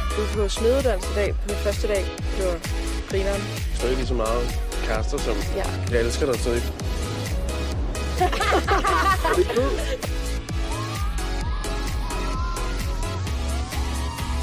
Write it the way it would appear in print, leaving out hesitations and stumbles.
Du er på smedeuddannelse i dag, på første dag. Det var grineren. Stadig lige så meget kærester, som Ja. jeg elsker dig stadig. Er det cool?